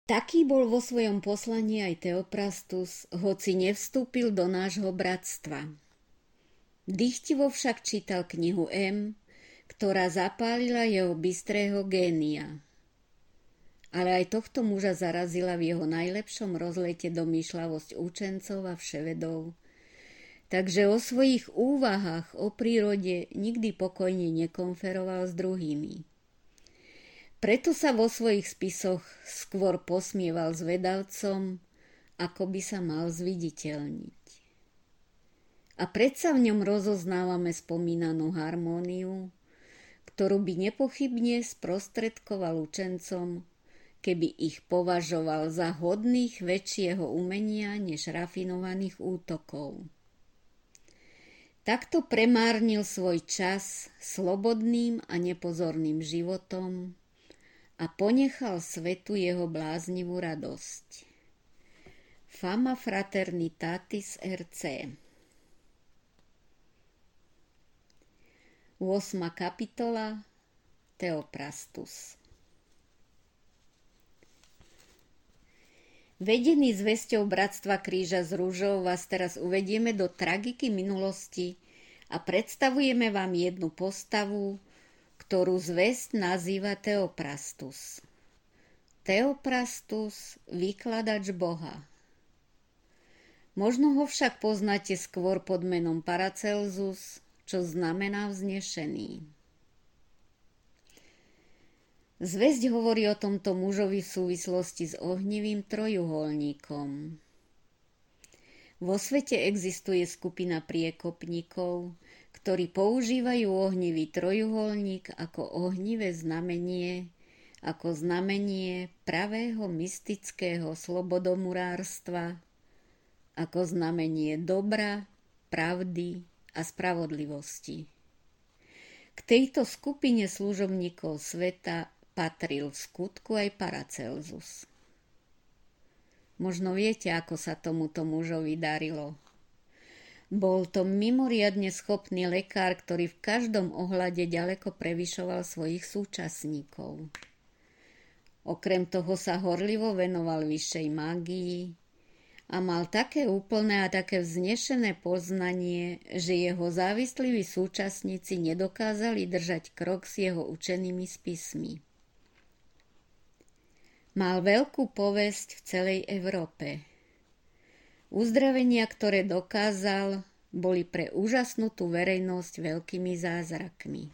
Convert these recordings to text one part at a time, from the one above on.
Taký bol vo svojom poslaní aj Theophrastus, hoci nevstúpil do nášho bratstva. Dychtivo však čítal knihu M, ktorá zapálila jeho bystrého génia. Ale aj tohto muža zarazila v jeho najlepšom rozlete domýšľavosť učencov a vševedov, takže o svojich úvahách o prírode nikdy pokojne nekonferoval s druhými. Preto sa vo svojich spisoch skôr posmieval s vedavcom, ako by sa mal zviditeľniť. A predsa v ňom rozoznávame spomínanú harmóniu, ktorú by nepochybne sprostredkoval učencom, keby ich považoval za hodných väčšieho umenia než rafinovaných útokov. Takto premárnil svoj čas slobodným a nepozorným životom a ponechal svetu jeho bláznivú radosť. Fama Fraternitatis RC. 8. kapitola. Theophrastus. Vedení zvesťou Bratstva kríža s rúžou vás teraz uvedieme do tragiky minulosti a predstavujeme vám jednu postavu, ktorú zvesť nazýva Theophrastus. Theophrastus, vykladač Boha. Možno ho však poznáte skôr pod menom Paracelsus, čo znamená vznešený. Zvesť hovorí o tomto mužovi v súvislosti s ohnivým trojuholníkom. Vo svete existuje skupina priekopníkov, ktorí používajú ohnivý trojuholník ako ohnivé znamenie, ako znamenie pravého mystického slobodomurárstva, ako znamenie dobra, pravdy a spravodlivosti. K tejto skupine služobníkov sveta patril v skutku aj Paracelsus. Možno viete, ako sa tomuto mužovi darilo. Bol to mimoriadne schopný lekár, ktorý v každom ohľade ďaleko prevyšoval svojich súčasníkov. Okrem toho sa horlivo venoval vyššej mágii a mal také úplné a také vznešené poznanie, že jeho závislí súčasníci nedokázali držať krok s jeho učenými spismi. Mal veľkú povesť v celej Európe. Uzdravenia, ktoré dokázal, boli pre úžasnutú verejnosť veľkými zázrakmi.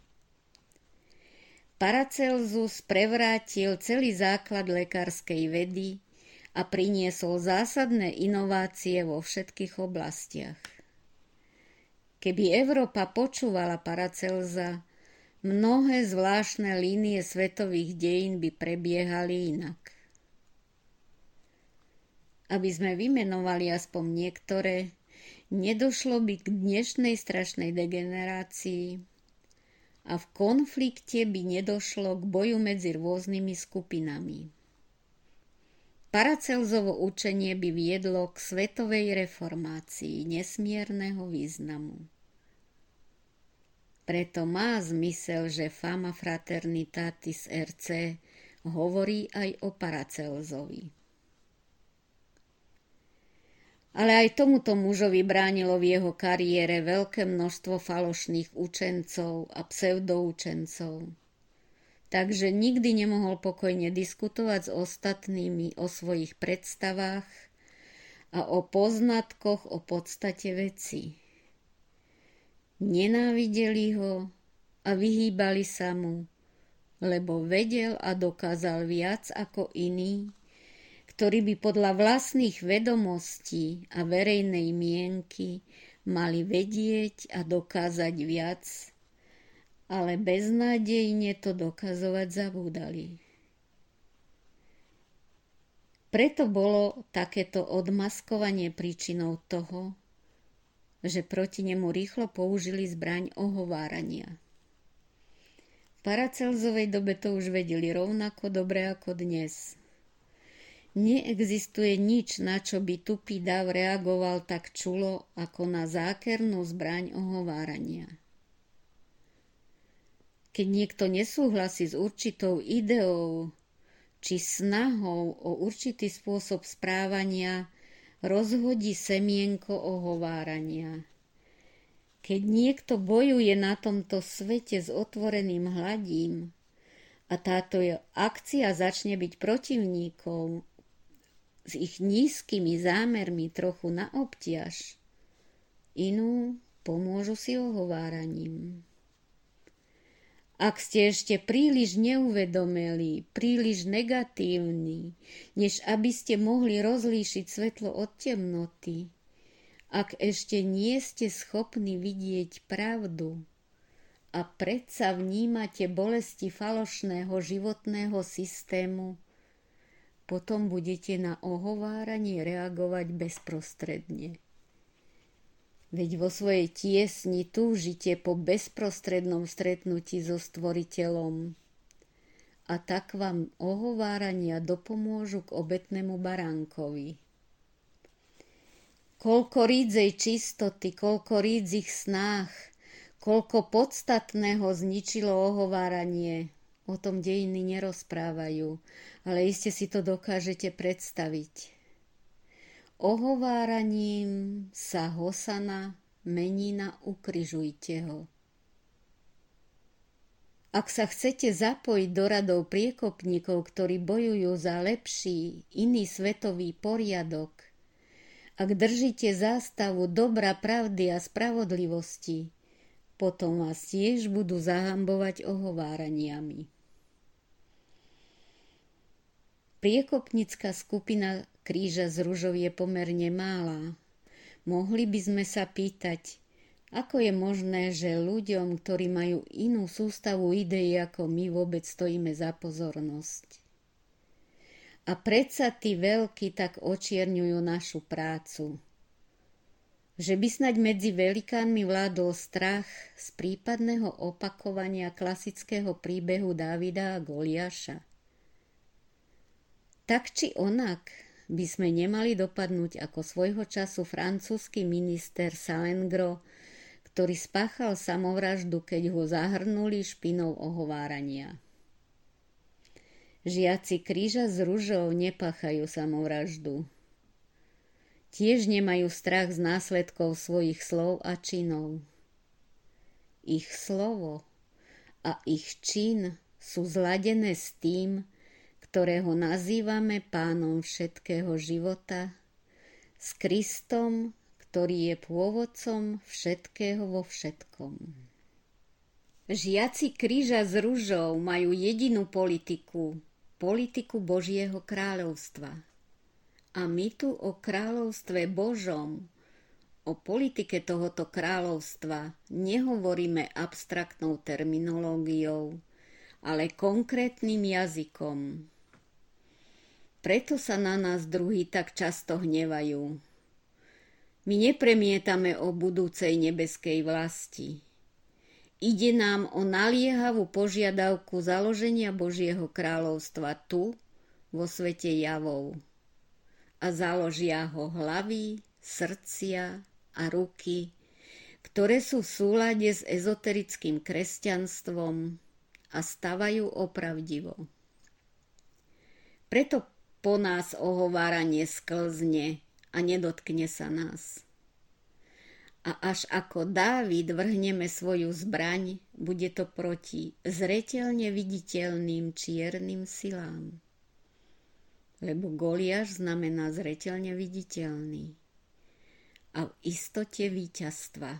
Paracelsus prevrátil celý základ lekárskej vedy a priniesol zásadné inovácie vo všetkých oblastiach. Keby Európa počúvala Paracelsa, mnohé zvláštne línie svetových dejín by prebiehali inak. Aby sme vymenovali aspoň niektoré, nedošlo by k dnešnej strašnej degenerácii a v konflikte by nedošlo k boju medzi rôznymi skupinami. Paracelsovo učenie by viedlo k svetovej reformácii nesmierneho významu. Preto má zmysel, že Fama Fraternitatis RC hovorí aj o Paracelsovi. Ale aj tomuto mužovi bránilo v jeho kariére veľké množstvo falošných učencov a pseudoučencov. Takže nikdy nemohol pokojne diskutovať s ostatnými o svojich predstavách a o poznatkoch o podstate veci. Nenávideli ho a vyhýbali sa mu, lebo vedel a dokázal viac ako iní, ktorí by podľa vlastných vedomostí a verejnej mienky mali vedieť a dokázať viac, ale beznádejne to dokazovať zabúdali. Preto bolo takéto odmaskovanie príčinou toho, že proti nemu rýchlo použili zbraň ohovárania. V Paracelsovej dobe to už vedeli rovnako dobre ako dnes. Neexistuje nič, na čo by tupý dav reagoval tak čulo, ako na zákernú zbraň ohovárania. Keď niekto nesúhlasí s určitou ideou, či snahou o určitý spôsob správania rozhodí semienko ohovárania. Keď niekto bojuje na tomto svete s otvoreným hladím a táto akcia začne byť protivníkov s ich nízkymi zámermi trochu na obťaž, inú pomôžu si ohováraním. Ak ste ešte príliš neuvedomelí, príliš negatívni, než aby ste mohli rozlíšiť svetlo od temnoty, ak ešte nie ste schopní vidieť pravdu a predsa vnímate bolesti falošného životného systému, potom budete na ohováranie reagovať bezprostredne. Veď vo svojej tiesni túžite po bezprostrednom stretnutí so Stvoriteľom a tak vám ohovárania dopomôžu k obetnému baránkovi. Koľko rídzej čistoty, koľko rídzich snách, koľko podstatného zničilo ohováranie, o tom dejiny nerozprávajú, ale iste si to dokážete predstaviť. Ohováraním sa Hosana mení na ukrižujte ho. Ak sa chcete zapojiť do radov priekopníkov, ktorí bojujú za lepší, iný svetový poriadok, ak držíte zástavu dobra, pravdy a spravodlivosti, potom vás tiež budú zahambovať ohováraniami. Priekopnícka skupina Kríža z ružou je pomerne mála. Mohli by sme sa pýtať, ako je možné, že ľuďom, ktorí majú inú sústavu ideí ako my, vôbec stojíme za pozornosť. A predsa tí veľkí tak očierňujú našu prácu. Že by snaď medzi velikánmi vládol strach z prípadného opakovania klasického príbehu Dávida a Goliáša. Tak či onak by sme nemali dopadnúť ako svojho času francúzsky minister Salengro, ktorý spáchal samovraždu, keď ho zahrnuli špinou ohovárania. Žiaci Kríža s ružou nepáchajú samovraždu. Tiež nemajú strach z následkov svojich slov a činov. Ich slovo a ich čin sú zladené s tým, ktorého nazývame Pánom všetkého života, s Kristom, ktorý je pôvodcom všetkého vo všetkom. Žiaci Kríža s ružou majú jedinú politiku Božieho kráľovstva. A my tu o kráľovstve Božom, o politike tohoto kráľovstva nehovoríme abstraktnou terminológiou, ale konkrétnym jazykom. Preto sa na nás druhí tak často hnevajú. My nepremietame o budúcej nebeskej vlasti. Ide nám o naliehavú požiadavku založenia Božieho kráľovstva tu, vo svete javov. A založia ho hlavy, srdcia a ruky, ktoré sú v súlade s ezoterickým kresťanstvom a stavajú opravdivo. Preto po nás ohováranie sklzne a nedotkne sa nás. A až ako Dávid vrhneme svoju zbraň, bude to proti zreteľne viditeľným čiernym silám. Lebo Goliáš znamená zreteľne viditeľný a v istote víťazstva.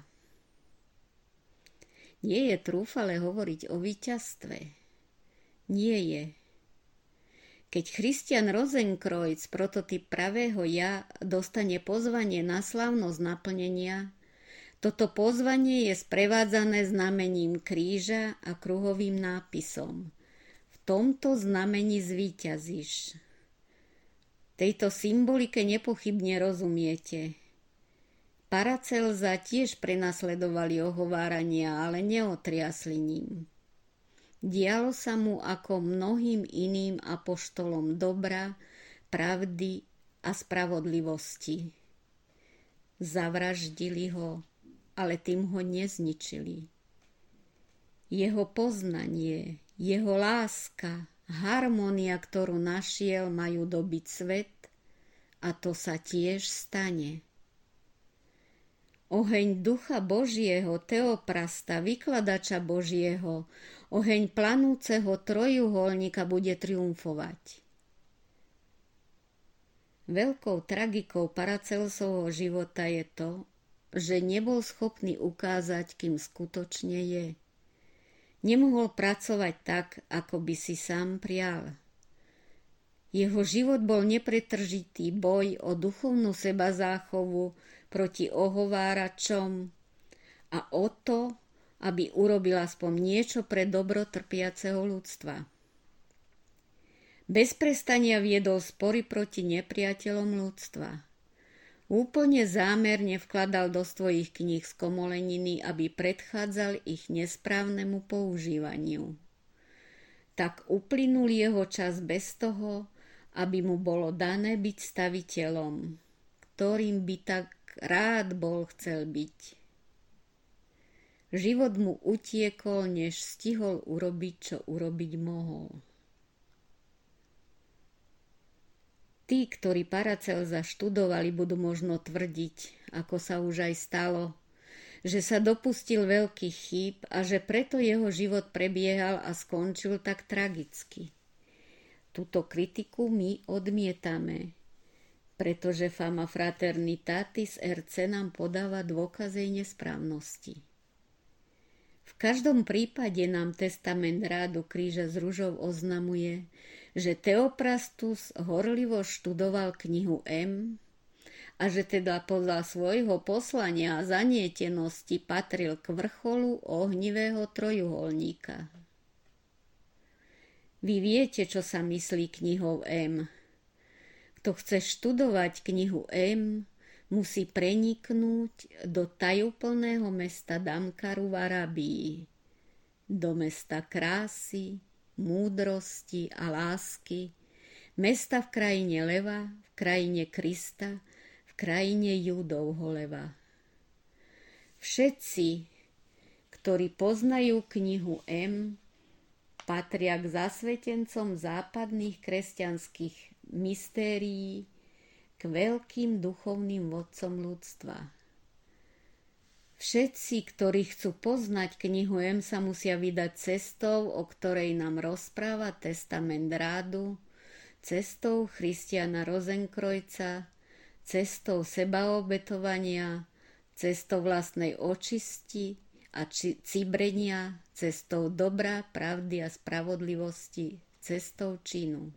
Nie je trúfale hovoriť o víťazstve. Nie je. Keď Christian Rosenkreuz, prototyp pravého ja, dostane pozvanie na slávnosť naplnenia, toto pozvanie je sprevádzané znamením kríža a kruhovým nápisom. V tomto znamení zvíťazíš. Tejto symbolike nepochybne rozumiete. Paracelza tiež prenasledovali ohovárania, ale neotriasli ním. Dialo sa mu ako mnohým iným apoštolom dobra, pravdy a spravodlivosti. Zavraždili ho, ale tým ho nezničili. Jeho poznanie, jeho láska, harmónia, ktorú našiel, majú dobiť svet a to sa tiež stane. Oheň Ducha Božieho, Teoprasta, vykladača Božieho, oheň planúceho trojuholníka bude triumfovať. Veľkou tragikou Paracelsovho života je to, že nebol schopný ukázať, kým skutočne je. Nemohol pracovať tak, ako by si sám prial. Jeho život bol nepretržitý boj o duchovnú sebazáchovu proti ohováračom a o to, aby urobil aspoň niečo pre dobro trpiaceho ľudstva. Bez prestania viedol spory proti nepriateľom ľudstva. Úplne zámerne vkladal do svojich kníh skomoleniny, aby predchádzal ich nesprávnemu používaniu. Tak uplynul jeho čas bez toho, aby mu bolo dané byť staviteľom, ktorým by tak rád bol chcel byť. Život mu utiekol, než stihol urobiť, čo urobiť mohol. Tí, ktorí Paracelsa študovali, budú možno tvrdiť, ako sa už aj stalo, že sa dopustil veľkých chýb a že preto jeho život prebiehal a skončil tak tragicky. Túto kritiku my odmietame, pretože Fama Fraternitatis RC nám podáva dôkazy nesprávnosti. V každom prípade nám testament Rádu kríža s ružou oznamuje, že Theophrastus horlivo študoval knihu M a že teda podľa svojho poslania a zanietenosti patril k vrcholu ohnivého trojuholníka. Vy viete, čo sa myslí knihou M. Kto chce študovať knihu M, musí preniknúť do tajúplného mesta Damkaru v Arabii, do mesta krásy, múdrosti a lásky, mesta v krajine leva, v krajine Krista, v krajine Júdovho leva. Všetci, ktorí poznajú knihu M, patria k zasvetencom západných kresťanských mystérií, k veľkým duchovným vodcom ľudstva. Všetci, ktorí chcú poznať knihu M, sa musia vydať cestou, o ktorej nám rozpráva testament Rádu, cestou Christiana Rosenkreuza, cestou sebaobetovania, cestou vlastnej očisti a cibrenia, cestou dobra, pravdy a spravodlivosti, cestou činu.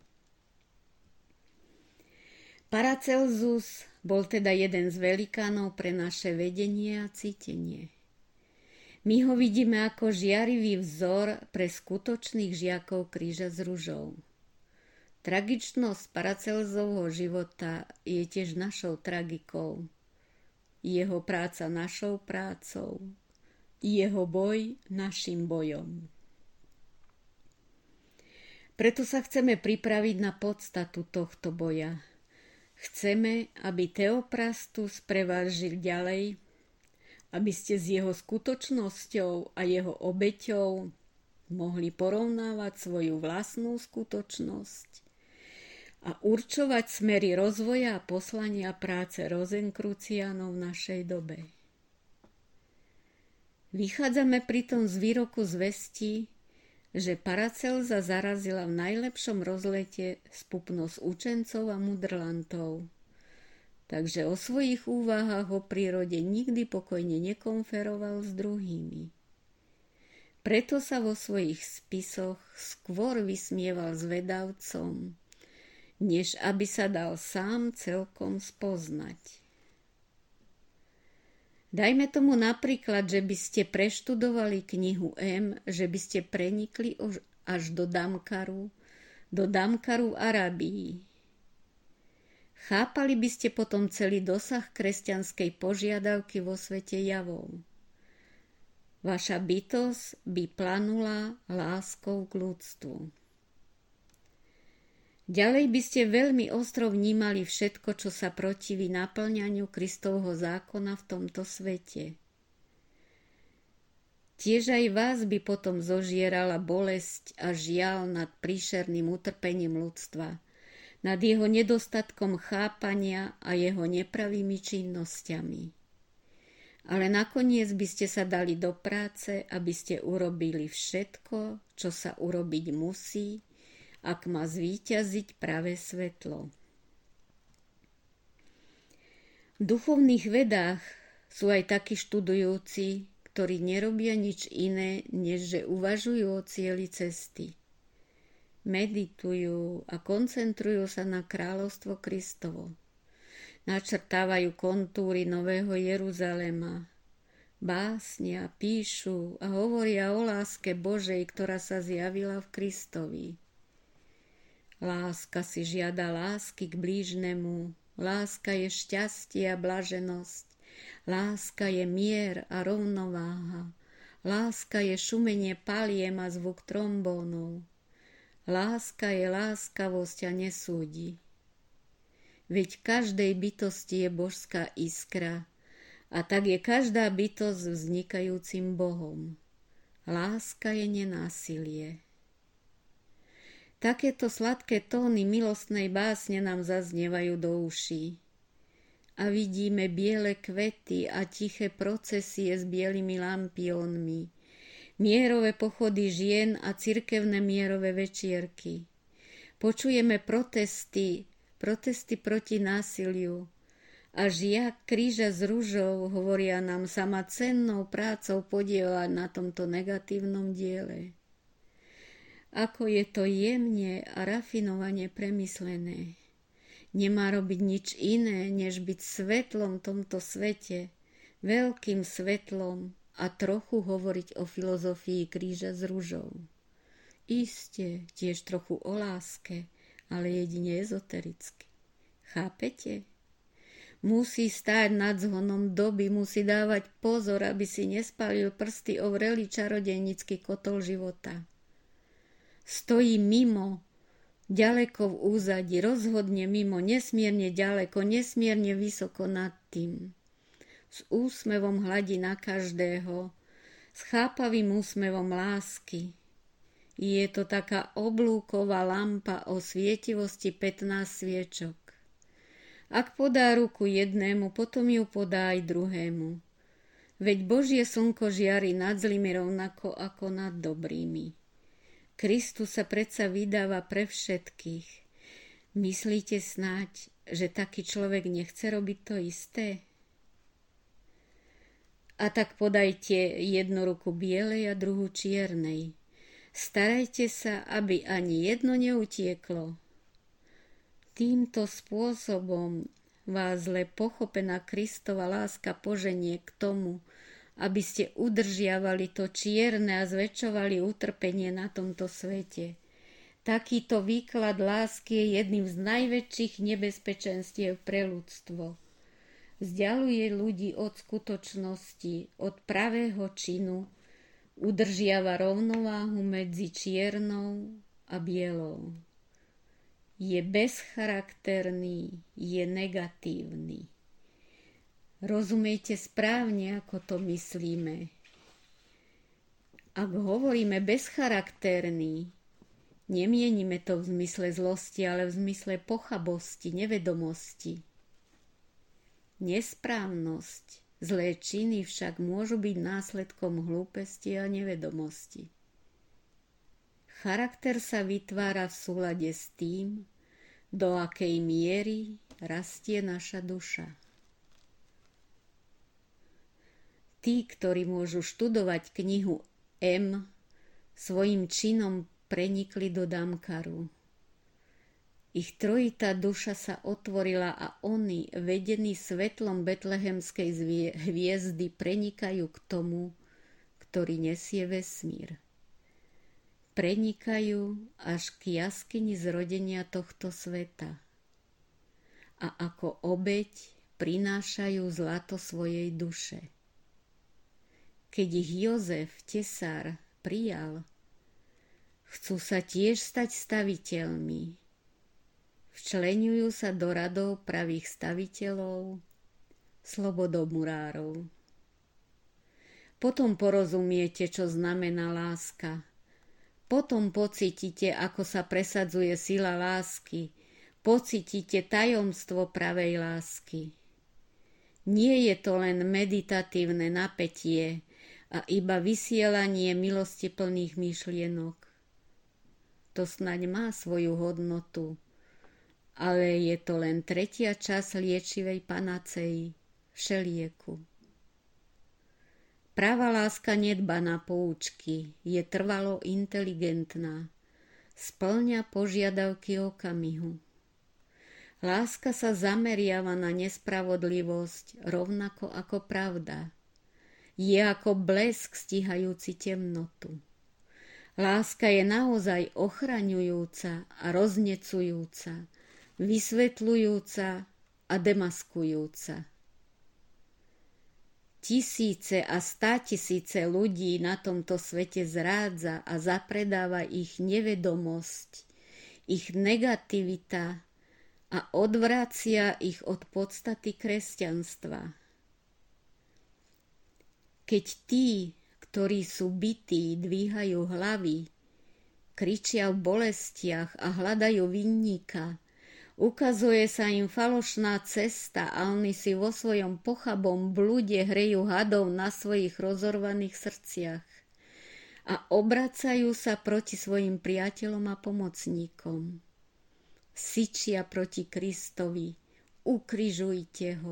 Paracelsus bol teda jeden z velikánov pre naše vedenie a cítenie. My ho vidíme ako žiarivý vzor pre skutočných žiakov kríža s ružou. Tragičnosť Paracelsovho života je tiež našou tragikou. Jeho práca našou prácou. Jeho boj našim bojom. Preto sa chceme pripraviť na podstatu tohto boja. Chceme, aby Theophrastus pre vás žil ďalej, aby ste s jeho skutočnosťou a jeho obeťou mohli porovnávať svoju vlastnú skutočnosť a určovať smery rozvoja a poslania práce Rosenkruciánov v našej dobe. Vychádzame pritom z výroku zvesti, že Paracelsa zarazila v najlepšom rozlete spupnosť učencov a mudrlantov. Takže o svojich úvahách o prírode nikdy pokojne nekonferoval s druhými. Preto sa vo svojich spisoch skôr vysmieval zvedavcom, než aby sa dal sám celkom spoznať. Dajme tomu napríklad, že by ste preštudovali knihu M, že by ste prenikli až do Damkaru v Arabii. Chápali by ste potom celý dosah kresťanskej požiadavky vo svete javov. Vaša bytosť by planula láskou k ľudstvu. Ďalej by ste veľmi ostro vnímali všetko, čo sa protiví naplňaniu Kristovho zákona v tomto svete. Tiež aj vás by potom zožierala bolesť a žiaľ nad príšerným utrpením ľudstva, nad jeho nedostatkom chápania a jeho nepravými činnosťami. Ale nakoniec by ste sa dali do práce, aby ste urobili všetko, čo sa urobiť musí, ak má zvíťaziť pravé svetlo. V duchovných vedách sú aj takí študujúci, ktorí nerobia nič iné, než že uvažujú o cieli cesty. Meditujú a koncentrujú sa na kráľovstvo Kristovo. Načrtávajú kontúry Nového Jeruzalema. Básnia, píšu a hovoria o láske Božej, ktorá sa zjavila v Kristovi. Láska si žiada lásky k blížnemu. Láska je šťastie a blaženosť. Láska je mier a rovnováha. Láska je šumenie paliem a zvuk trombónov. Láska je láskavosť a nesúdi. Veď v každej bytosti je božská iskra a tak je každá bytosť vznikajúcim Bohom. Láska je nenásilie. Takéto sladké tóny milostnej básne nám zaznievajú do uší. A vidíme biele kvety a tiché procesie s bielými lampiónmi, mierové pochody žien a cirkevné mierové večierky. Počujeme protesty proti násiliu a žiak kríža s ružou hovoria nám sama cennou prácou podieľať na tomto negatívnom diele. Ako je to jemne a rafinovane premyslené. Nemá robiť nič iné, než byť svetlom v tomto svete, veľkým svetlom a trochu hovoriť o filozofii kríža s ružou. Isté, tiež trochu o láske, ale jedine ezotericky. Chápete? Musí stáť nad zhonom doby, musí dávať pozor, aby si nespálil prsty o vrelý čarodejnícky kotol života. Stojí mimo, ďaleko v úzadi, rozhodne mimo, nesmierne ďaleko, nesmierne vysoko nad tým. S úsmevom hladí na každého, s chápavým úsmevom lásky. Je to taká oblúková lampa o svietivosti 15 sviečok. Ak podá ruku jednému, potom ju podá aj druhému. Veď Božie slnko žiari nad zlými rovnako ako nad dobrými. Kristus sa predsa vydáva pre všetkých. Myslíte snáď, že taký človek nechce robiť to isté? A tak podajte jednu ruku bielej a druhú čiernej. Starajte sa, aby ani jedno neutieklo. Týmto spôsobom vás zle pochopená Kristova láska poženie k tomu, aby ste udržiavali to čierne a zväčšovali utrpenie na tomto svete. Takýto výklad lásky je jedným z najväčších nebezpečenstiev pre ľudstvo. Vzdialuje ľudí od skutočnosti, od pravého činu, udržiava rovnováhu medzi čiernou a bielou. Je bezcharakterný, je negatívny. Rozumiete správne, ako to myslíme. Ak hovoríme bezcharakterný, nemienime to v zmysle zlosti, ale v zmysle pochabosti, nevedomosti. Nesprávnosť, zlé činy však môžu byť následkom hlúposti a nevedomosti. Charakter sa vytvára v súlade s tým, do akej miery rastie naša duša. Tí, ktorí môžu študovať knihu M, svojim činom prenikli do Damkaru. Ich trojitá duša sa otvorila a oni, vedení svetlom betlehemskej hviezdy, prenikajú k tomu, ktorý nesie vesmír. Prenikajú až k jaskyni zrodenia tohto sveta. A ako obeť prinášajú zlato svojej duše. Keď ich Jozef, tesár, prijal, chcú sa tiež stať staviteľmi. Včleňujú sa do radov pravých staviteľov, slobodomurárov. Potom porozumiete, čo znamená láska. Potom pocítite, ako sa presadzuje sila lásky. Pocítite tajomstvo pravej lásky. Nie je to len meditatívne napätie a iba vysielanie milostiplných myšlienok. To snaď má svoju hodnotu, ale je to len tretia časť liečivej panacei, všelieku. Práva láska nedba na poučky, je trvalo inteligentná, spĺňa požiadavky okamihu. Láska sa zameriava na nespravodlivosť rovnako ako pravda. Je ako blesk stíhajúci temnotu. Láska je naozaj ochraňujúca a roznecujúca, vysvetľujúca a demaskujúca. Tisíce a státisíce ľudí na tomto svete zrádza a zapredáva ich nevedomosť, ich negativita a odvracia ich od podstaty kresťanstva. Keď tí, ktorí sú bití, dvíhajú hlavy, kričia v bolestiach a hľadajú vinníka, ukazuje sa im falošná cesta a oni si vo svojom pochabom blude hrejú hadov na svojich rozorvaných srdciach a obracajú sa proti svojim priateľom a pomocníkom. Syčia proti Kristovi, ukrižujte ho.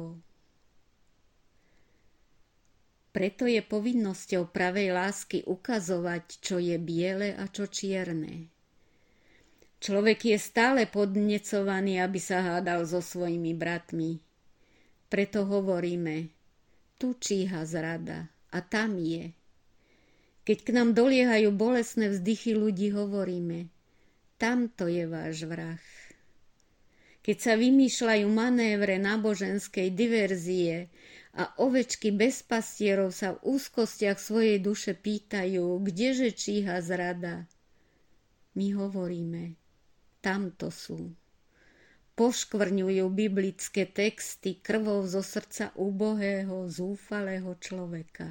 Preto je povinnosťou pravej lásky ukazovať, čo je biele a čo čierne. Človek je stále podnecovaný, aby sa hádal so svojimi bratmi. Preto hovoríme, tu číha zrada a tam je. Keď k nám doliehajú bolestné vzdychy ľudí, hovoríme, tamto je váš vrah. Keď sa vymýšľajú manévre náboženskej diverzie a ovečky bez pastierov sa v úzkostiach svojej duše pýtajú, kdeže číha zrada, my hovoríme, tamto sú. Poškvrňujú biblické texty krvou zo srdca úbohého, zúfalého človeka.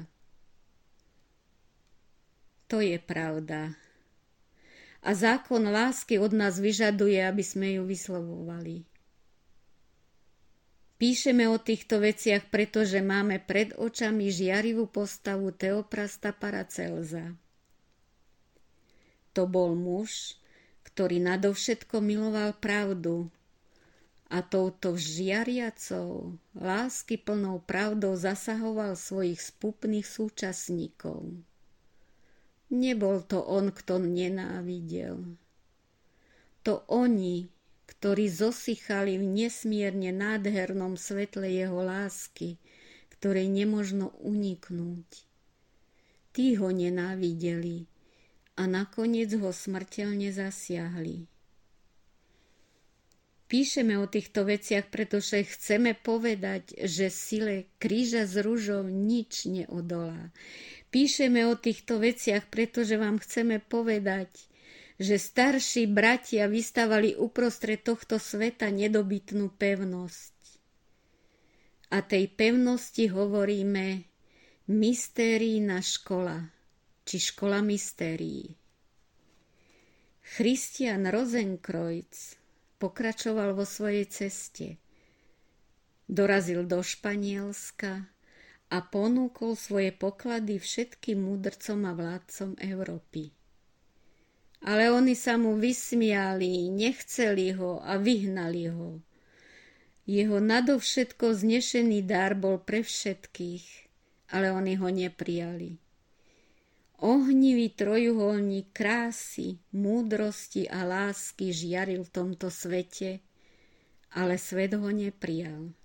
To je pravda. A zákon lásky od nás vyžaduje, aby sme ju vyslovovali. Píšeme o týchto veciach, pretože máme pred očami žiarivú postavu Theophrasta Paracelsa. To bol muž, ktorý nadovšetko miloval pravdu a touto žiariacou, láskyplnou pravdou zasahoval svojich spupných súčasníkov. Nebol to on, kto nenávidel. To oni, ktorí zosychali v nesmierne nádhernom svetle jeho lásky, ktorej nemožno uniknúť. Tí ho nenávideli a nakoniec ho smrteľne zasiahli. Píšeme o týchto veciach, pretože chceme povedať, že sile kríža s ružou nič neodolá. Píšeme o týchto veciach, pretože vám chceme povedať, že starší bratia vystavali uprostred tohto sveta nedobytnú pevnosť. A tej pevnosti hovoríme mystérijná škola, či škola mystérií. Christian Rosenkreuz pokračoval vo svojej ceste. Dorazil do Španielska a ponúkol svoje poklady všetkým múdrcom a vládcom Európy. Ale oni sa mu vysmiali, nechceli ho a vyhnali ho. Jeho nadovšetko vznešený dar bol pre všetkých, ale oni ho neprijali. Ohnivý trojuholník krásy, múdrosti a lásky žiaril v tomto svete, ale svet ho neprijal.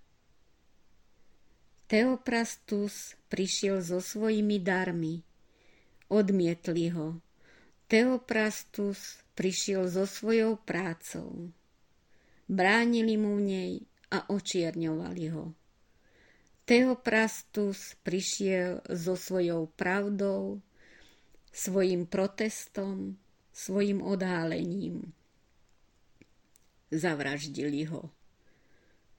Theophrastus prišiel so svojimi darmi. Odmietli ho. Theophrastus prišiel so svojou prácou. Bránili mu v nej a očierňovali ho. Theophrastus prišiel so svojou pravdou, svojim protestom, svojim odhálením. Zavraždili ho.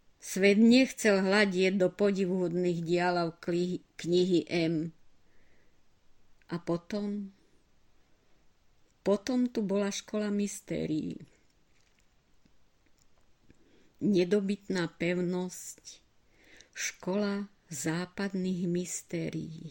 Svet nechcel hľadieť do podivuhodných dialov knihy M. A potom tu bola škola mystérií. Nedobytná pevnosť, škola západných mystérií.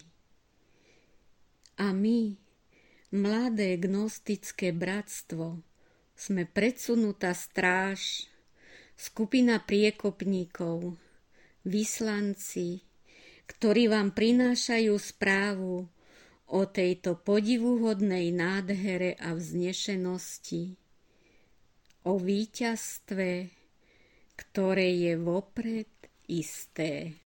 A my, mladé gnostické bratstvo, sme predsunutá stráž, skupina priekopníkov, vyslanci, ktorí vám prinášajú správu o tejto podivuhodnej nádhere a vznešenosti, o víťazstve, ktoré je vopred isté.